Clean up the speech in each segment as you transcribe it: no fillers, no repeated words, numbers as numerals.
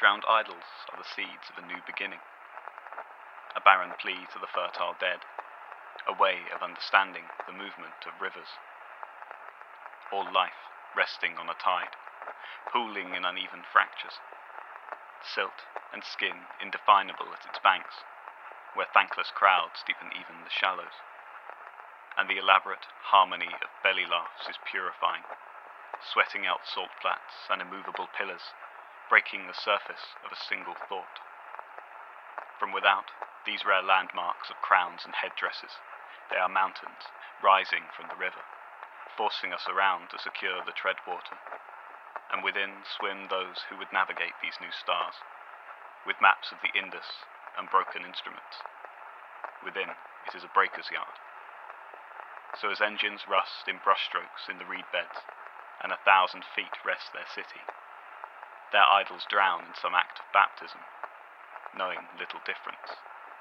drowned idols are the seeds of a new beginning, a barren plea to the fertile dead, a way of understanding the movement of rivers. All life resting on a tide, pooling in uneven fractures, silt and skin indefinable at its banks, where thankless crowds deepen even the shallows, and the elaborate harmony of belly laughs is purifying, sweating out salt flats and immovable pillars, breaking the surface of a single thought. From without these rare landmarks of crowns and headdresses, they are mountains rising from the river, forcing us around to secure the treadwater, and within swim those who would navigate these new stars, with maps of the Indus and broken instruments. Within it is a breaker's yard. So as engines rust in brushstrokes in the reed beds, and 1,000 feet rest their city, their idols drown in some act of baptism, knowing little difference.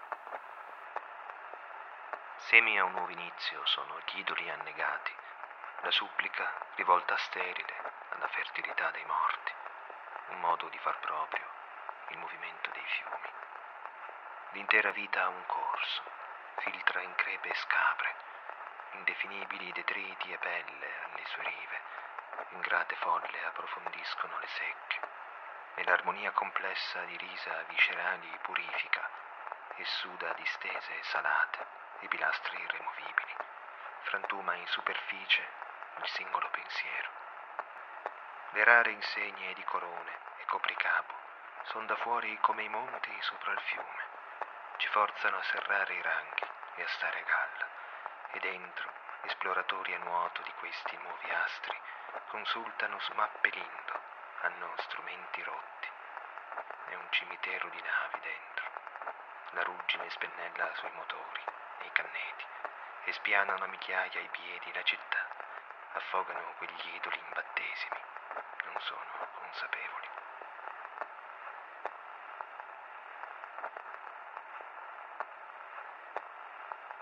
Semi a un nuovo inizio sono gli idoli annegati, la supplica rivolta sterile alla fertilità dei morti, un modo di far proprio il movimento dei fiumi. L'intera vita ha un corso, filtra in crepe e scapre, indefinibili detriti e pelle alle sue rive, ingrate folle approfondiscono le secche, e l'armonia complessa di risa viscerali purifica e suda distese e salate i pilastri irremovibili, frantuma in superficie il singolo pensiero. Le rare insegne di corone e copricapo son da fuori come i monti sopra il fiume, ci forzano a serrare i ranghi e a stare a galla, e dentro, esploratori a nuoto di questi nuovi astri, consultano mappe lindo, hanno strumenti rotti. È un cimitero di navi dentro. La ruggine spennella sui motori e i canneti, e spianano a migliaia ai piedi la città, affogano quegli idoli in battesimi, non sono consapevoli.